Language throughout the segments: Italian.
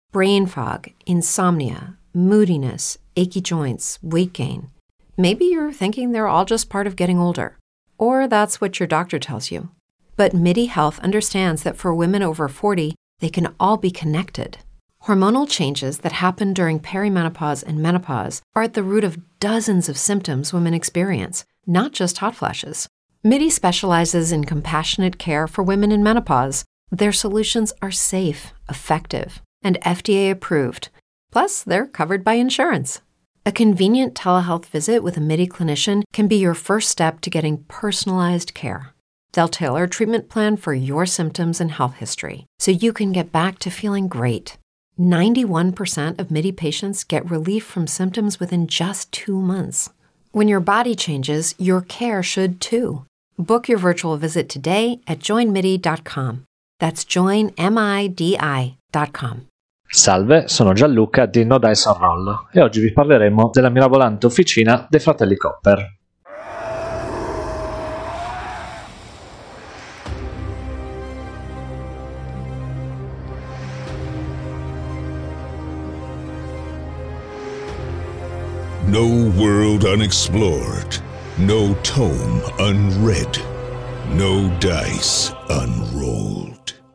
brain fog, insomnia, moodiness, achy joints, weight gain. Maybe you're thinking they're all just part of getting older, or that's what your doctor tells you. But MIDI Health understands that for women over 40, they can all be connected. Hormonal changes that happen during perimenopause and menopause are at the root of dozens of symptoms women experience, not just hot flashes. MIDI specializes in compassionate care for women in menopause. Their solutions are safe, effective, and FDA approved. Plus, they're covered by insurance. A convenient telehealth visit with a MIDI clinician can be your first step to getting personalized care. They'll tailor a treatment plan for your symptoms and health history, so you can get back to feeling great. 91% of MIDI patients get relief from symptoms within just 2 months. When your body changes, your care should too. Book your virtual visit today at joinmidi.com. That's joinmidi.com. Salve, sono Gianluca di No Dice on Roll e oggi vi parleremo della mirabolante officina dei fratelli Copper. No world unexplored, no tome unread, no dice unrolled.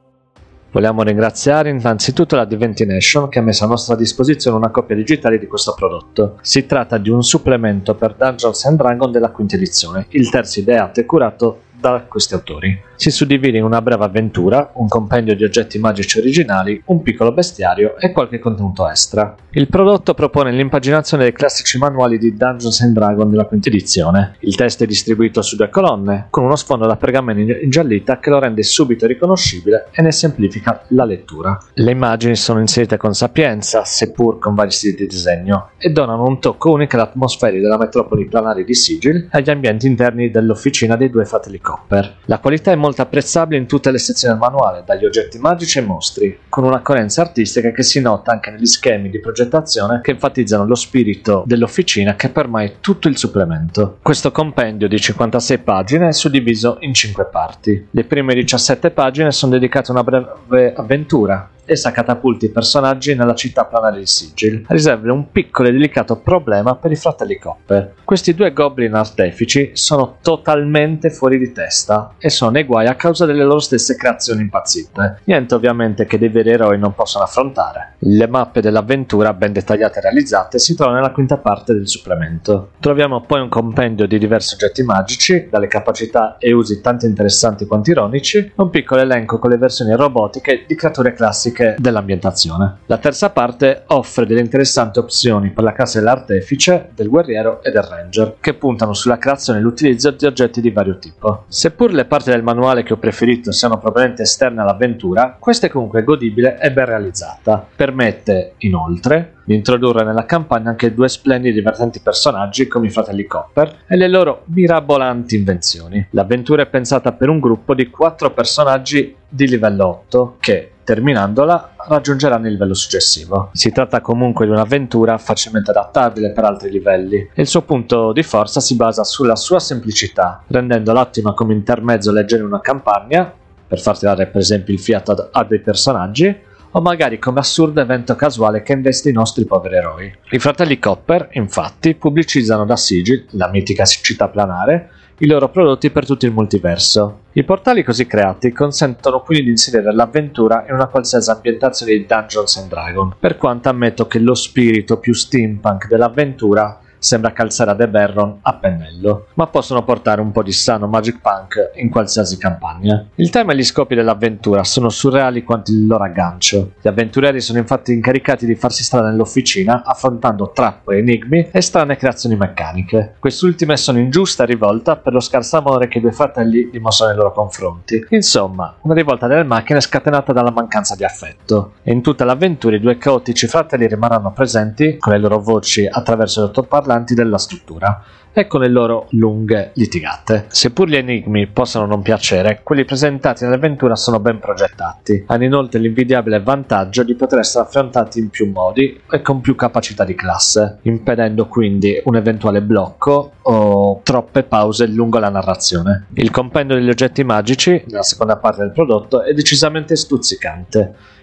Vogliamo ringraziare innanzitutto la Divination che ha messo a nostra disposizione una copia digitale di questo prodotto. Si tratta di un supplemento per Dungeons & Dragons della quinta edizione, il terzo ideato e curato da questi autori. Si suddivide in una breve avventura, un compendio di oggetti magici originali, un piccolo bestiario e qualche contenuto extra. Il prodotto propone l'impaginazione dei classici manuali di Dungeons & Dragons della quinta edizione. Il testo è distribuito su 2 colonne, con uno sfondo da pergameno ingiallita che lo rende subito riconoscibile e ne semplifica la lettura. Le immagini sono inserite con sapienza, seppur con vari stili di disegno, e donano un tocco unico all'atmosfera della metropoli planari di Sigil e agli ambienti interni dell'officina dei due fratelli Copper. La qualità è molto apprezzabile in tutte le sezioni del manuale, dagli oggetti magici ai mostri, con una coerenza artistica che si nota anche negli schemi di progettazione che enfatizzano lo spirito dell'officina che permea tutto il supplemento. Questo compendio di 56 pagine è suddiviso in 5 parti. Le prime 17 pagine sono dedicate a una breve avventura. Essa catapulta i personaggi nella città planare di Sigil, a risolvere un piccolo e delicato problema per i fratelli Copper. Questi 2 goblin artefici sono totalmente fuori di testa e sono nei guai a causa delle loro stesse creazioni impazzite. Niente ovviamente che dei veri eroi non possono affrontare. Le mappe dell'avventura, ben dettagliate e realizzate, si trovano nella quinta parte del supplemento. Troviamo poi un compendio di diversi oggetti magici, dalle capacità e usi tanto interessanti quanto ironici, e un piccolo elenco con le versioni robotiche di creature classiche dell'ambientazione. La terza parte offre delle interessanti opzioni per la classe dell'artefice, del guerriero e del ranger, che puntano sulla creazione e l'utilizzo di oggetti di vario tipo. Seppur le parti del manuale che ho preferito siano propriamente esterne all'avventura, questa è comunque godibile e ben realizzata. Permette, inoltre, di introdurre nella campagna anche 2 splendidi e divertenti personaggi come i fratelli Copper e le loro mirabolanti invenzioni. L'avventura è pensata per un gruppo di 4 personaggi di livello 8 che, terminandola, raggiungeranno il livello successivo. Si tratta comunque di un'avventura facilmente adattabile per altri livelli e il suo punto di forza si basa sulla sua semplicità, rendendola ottima come intermezzo leggero in una campagna, per far tirare per esempio il fiato a dei personaggi, o magari come assurdo evento casuale che investe i nostri poveri eroi. I fratelli Copper, infatti, pubblicizzano da Sigil, la mitica città planare, i loro prodotti per tutto il multiverso. I portali così creati consentono quindi di inserire l'avventura in una qualsiasi ambientazione di Dungeons & Dragons, per quanto ammetto che lo spirito più steampunk dell'avventura sembra calzare ad Eberron a pennello, ma possono portare un po' di sano magic punk in qualsiasi campagna. Il tema e gli scopi dell'avventura sono surreali quanto il loro aggancio. Gli avventurieri sono infatti incaricati di farsi strada nell'officina affrontando trappole, enigmi e strane creazioni meccaniche. Quest'ultime sono in giusta rivolta per lo scarso amore che i 2 fratelli dimostrano nei loro confronti. Insomma, una rivolta delle macchine scatenata dalla mancanza di affetto. E in tutta l'avventura i 2 caotici fratelli rimarranno presenti con le loro voci attraverso gli altoparlanti della struttura e con le loro lunghe litigate. Seppur gli enigmi possano non piacere, quelli presentati nell'avventura sono ben progettati. Hanno inoltre l'invidiabile vantaggio di poter essere affrontati in più modi e con più capacità di classe, impedendo quindi un eventuale blocco o troppe pause lungo la narrazione. Il compendio degli oggetti magici, nella seconda parte del prodotto, è decisamente stuzzicante.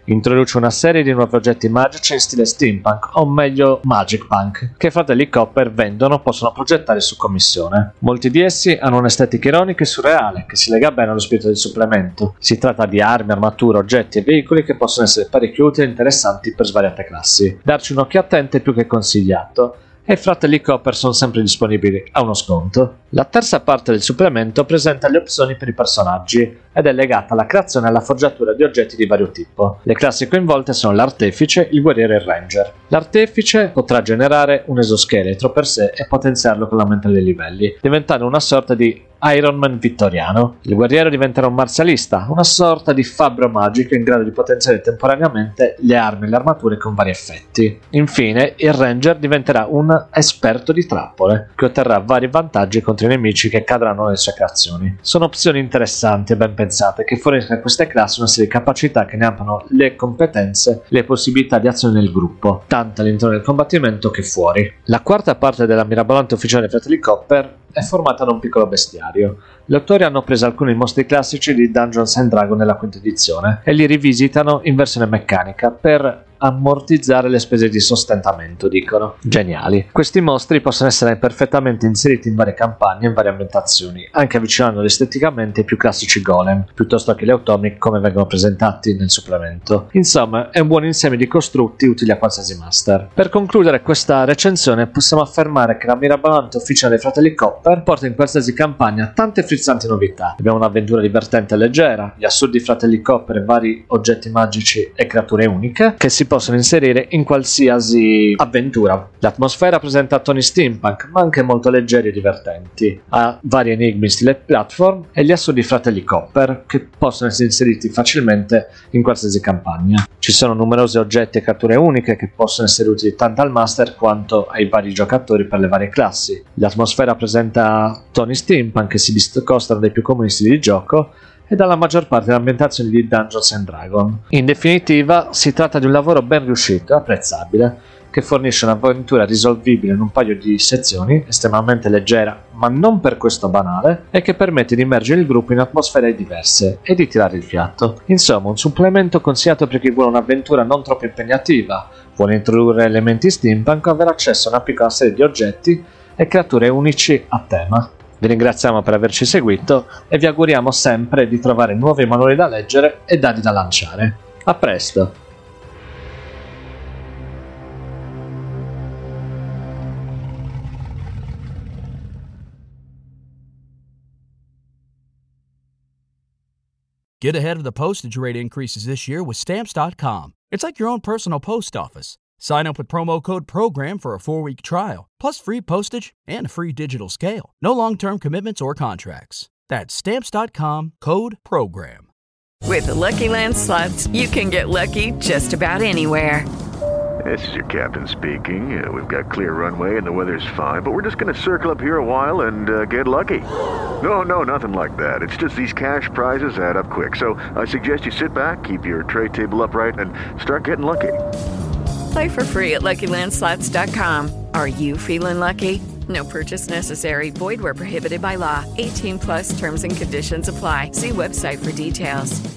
Introduce una serie di nuovi oggetti magici in stile steampunk, o meglio magic punk, che i fratelli Copper vendono o possono progettare su commissione. Molti di essi hanno un'estetica ironica e surreale, che si lega bene allo spirito del supplemento. Si tratta di armi, armature, oggetti e veicoli che possono essere parecchio utili e interessanti per svariate classi. Darci un occhio attento è più che consigliato, e i fratelli Copper sono sempre disponibili a uno sconto. La terza parte del supplemento presenta le opzioni per i personaggi ed è legata alla creazione e alla forgiatura di oggetti di vario tipo. Le classi coinvolte sono l'artefice, il guerriero e il ranger. L'artefice potrà generare un esoscheletro per sé e potenziarlo con l'aumento dei livelli, diventando una sorta di Iron Man vittoriano. Il guerriero diventerà un marzialista, una sorta di fabbro magico in grado di potenziare temporaneamente le armi e le armature con vari effetti. Infine, il ranger diventerà un esperto di trappole, che otterrà vari vantaggi contro i nemici che cadranno nelle sue creazioni. Sono opzioni interessanti e ben pensate che forniscono a queste classi una serie di capacità che ne ampliano le competenze e le possibilità di azione nel gruppo, tanto all'interno del combattimento che fuori. La quarta parte della mirabolante ufficiale dei fratelli Copper è formata da un piccolo bestiario. Gli autori hanno preso alcuni mostri classici di Dungeons and Dragons nella quinta edizione e li rivisitano in versione meccanica per ammortizzare le spese di sostentamento, dicono. Geniali. Questi mostri possono essere perfettamente inseriti in varie campagne e in varie ambientazioni, anche avvicinandoli esteticamente ai più classici golem, piuttosto che gli automi come vengono presentati nel supplemento. Insomma, è un buon insieme di costrutti utili a qualsiasi master. Per concludere questa recensione, possiamo affermare che la mirabolante ufficiale dei fratelli Copper porta in qualsiasi campagna tante frizzanti novità. Abbiamo un'avventura divertente e leggera, gli assurdi fratelli Copper e vari oggetti magici e creature uniche che si possono inserire in qualsiasi avventura. L'atmosfera presenta toni steampunk, ma anche molto leggeri e divertenti. Ha vari enigmi in stile platform e gli assurdi fratelli Copper, che possono essere inseriti facilmente in qualsiasi campagna. Ci sono numerosi oggetti e creature uniche che possono essere utili tanto al master quanto ai vari giocatori per le varie classi. L'atmosfera presenta toni steampunk che si discostano dai più comuni stili di gioco e dalla maggior parte delle ambientazioni di Dungeons and Dragons. In definitiva, si tratta di un lavoro ben riuscito e apprezzabile, che fornisce un'avventura risolvibile in un paio di sezioni, estremamente leggera ma non per questo banale, e che permette di immergere il gruppo in atmosfere diverse e di tirare il fiato. Insomma, un supplemento consigliato per chi vuole un'avventura non troppo impegnativa, vuole introdurre elementi steampunk o avere accesso a una piccola serie di oggetti e creature unici a tema. Vi ringraziamo per averci seguito e vi auguriamo sempre di trovare nuovi manuali da leggere e dadi da lanciare. A presto! Get ahead of the postage rate increases this year with Stamps.com. It's like your own personal post office. Sign up with promo code PROGRAM for a 4-week trial, plus free postage and a free digital scale. No long-term commitments or contracts. That's Stamps.com, code PROGRAM. With the Lucky Land Slots, you can get lucky just about anywhere. This is your captain speaking. We've got clear runway and the weather's fine, but we're just going to circle up here a while and get lucky. No, nothing like that. It's just these cash prizes add up quick. So I suggest you sit back, keep your tray table upright, and start getting lucky. Play for free at LuckyLandSlots.com. Are you feeling lucky? No purchase necessary. Void where prohibited by law. 18+ terms and conditions apply. See website for details.